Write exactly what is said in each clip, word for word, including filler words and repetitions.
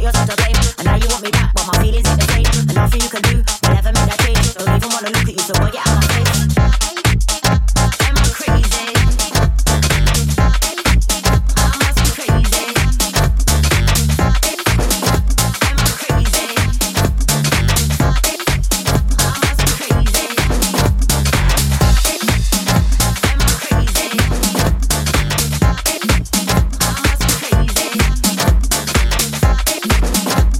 got yourself to blame. And now you want me back, but my feelings ain't the same. And nothing you can do will ever make that change. Don't even wanna look at you, so boy, get out my face. Am I crazy? I must be crazy. Am I crazy? I must be crazy. Am I crazy? I must be crazy.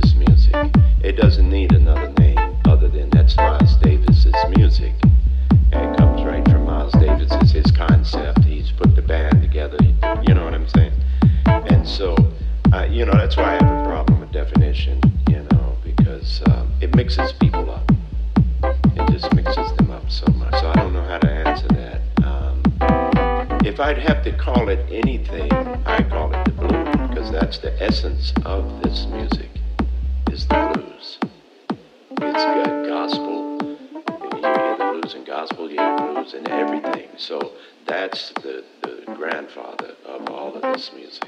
Davis's music. It doesn't need another name other than that's Miles Davis's music. And it comes right from Miles Davis. It's his concept. He's put the band together. You know what I'm saying? And so, uh, you know, that's why I have a problem with definition, you know, because um, it mixes people up. It just mixes them up so much. So I don't know how to answer that. Um, if I'd have to call it anything, I call it the blues, because that's the essence of this music, is the blues. It's got gospel. You hear the blues and gospel, you hear blues and everything. So that's the, the grandfather of all of this music.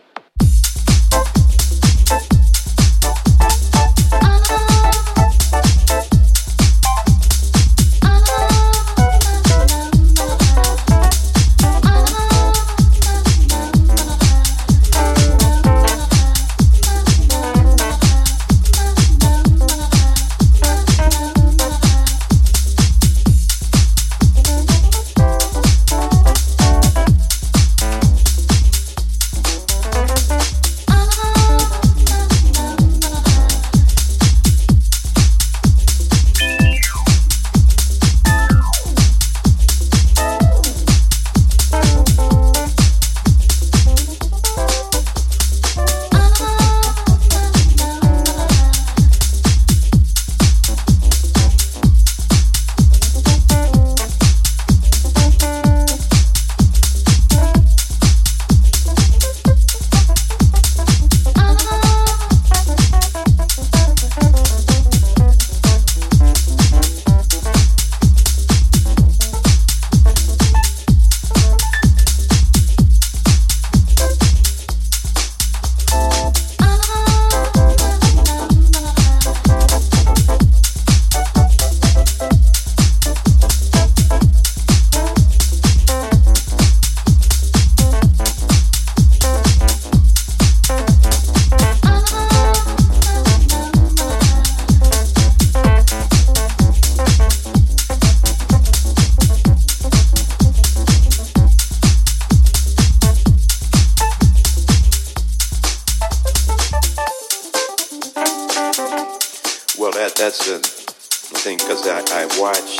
That's the thing, because I, I watched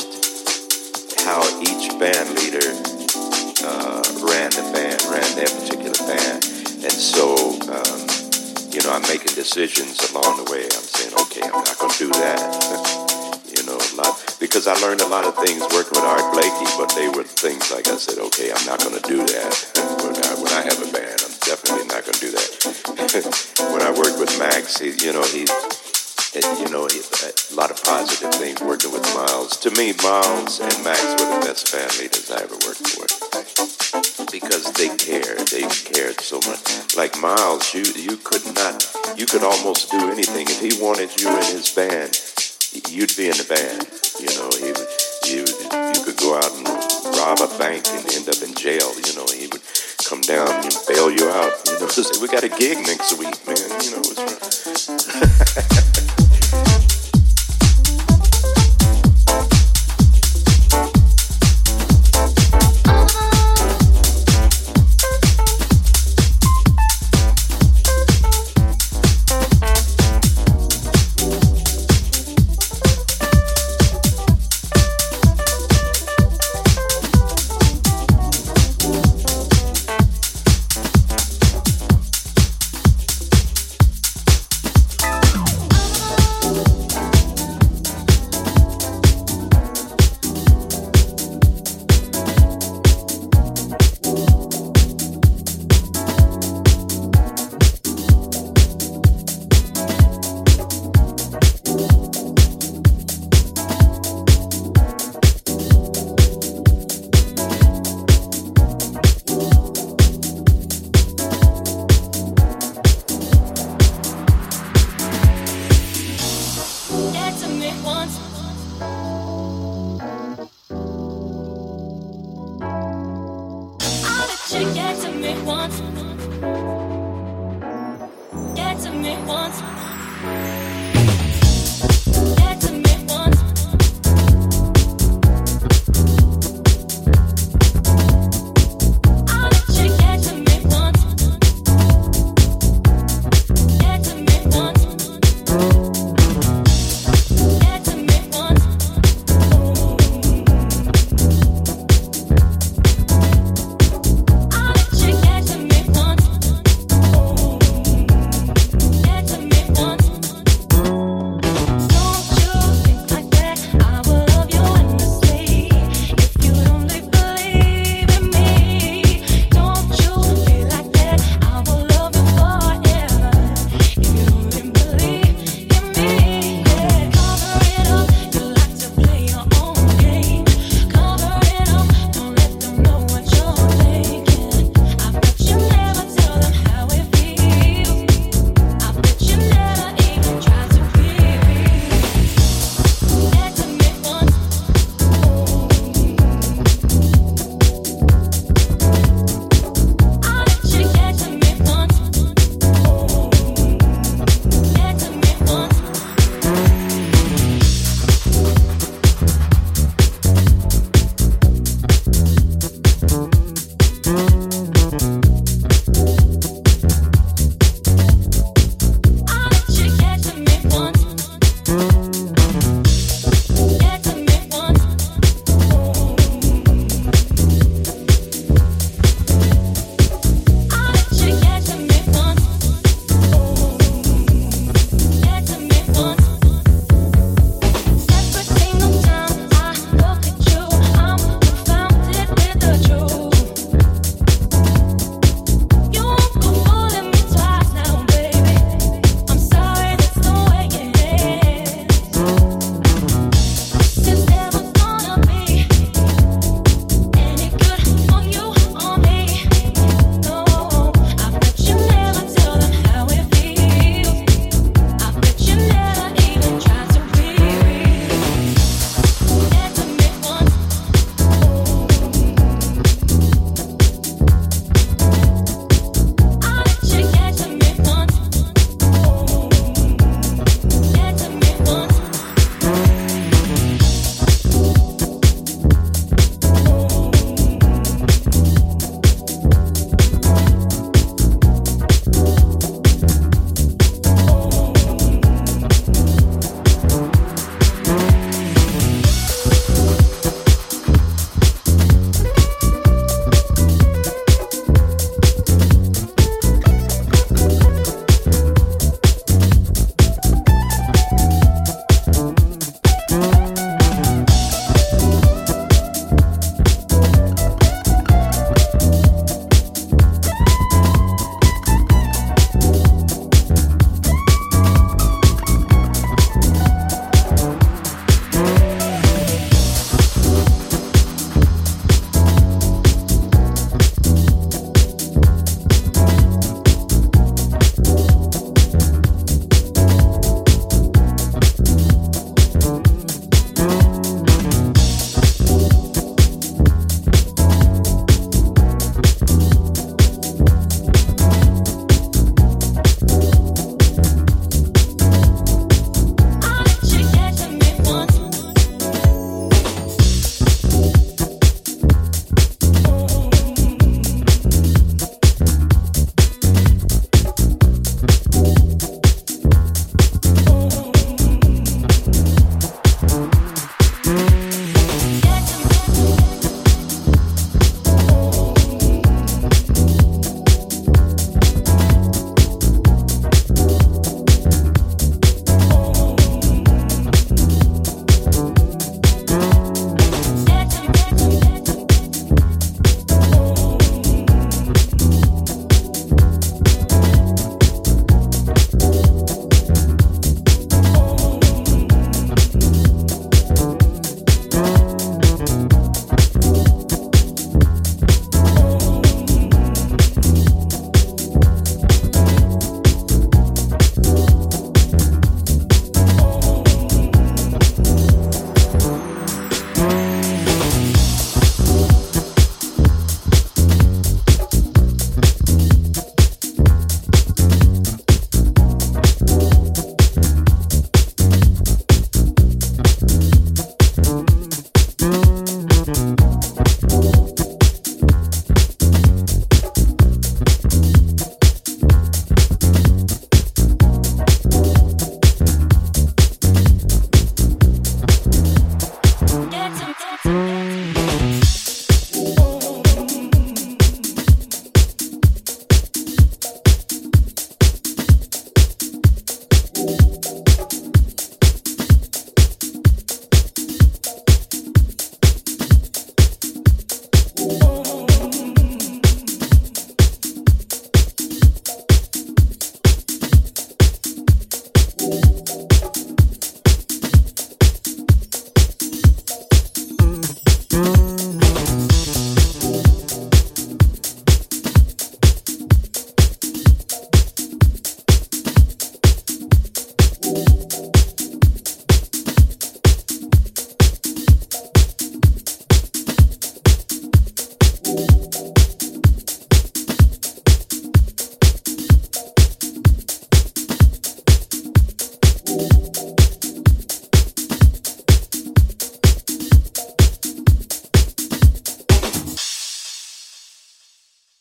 how each band leader uh, ran the band, ran their particular band. And so, um, you know, I'm making decisions along the way. I'm saying, okay, I'm not going to do that. you know, a lot, because I learned a lot of things working with Art Blakey, but they were things like I said, okay, I'm not going to do that. when, I, when I have a band, I'm definitely not going to do that. When I worked with Max, he, you know, he... It, you know, a lot of positive things working with Miles. To me, Miles and Max were the best band leaders I ever worked with, because they cared. They cared so much. Like Miles, you you could not, you could almost do anything. If he wanted you in his band, you'd be in the band. You know, he would, you you could go out and rob a bank and end up in jail. You know, he would come down and bail you out. You know, say, we got a gig next week, man. You know, what's wrong?